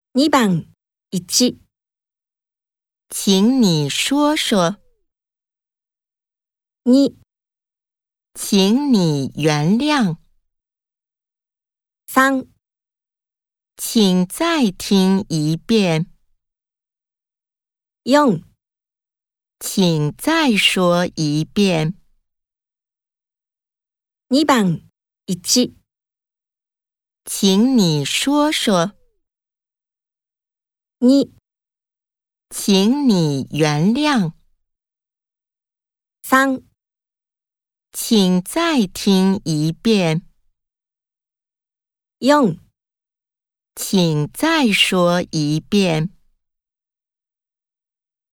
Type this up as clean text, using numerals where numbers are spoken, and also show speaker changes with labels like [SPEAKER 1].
[SPEAKER 1] 2番1、
[SPEAKER 2] 请你说说。
[SPEAKER 1] 2、
[SPEAKER 2] 请你原谅。
[SPEAKER 1] 3、
[SPEAKER 2] 请再听一遍。
[SPEAKER 1] 4、
[SPEAKER 2] 请再说一遍。
[SPEAKER 1] 2番1、
[SPEAKER 2] 请你说说。
[SPEAKER 1] 2、
[SPEAKER 2] 请你原谅。
[SPEAKER 1] 3、
[SPEAKER 2] 请再听一遍。
[SPEAKER 1] 4、
[SPEAKER 2] 请再说一遍。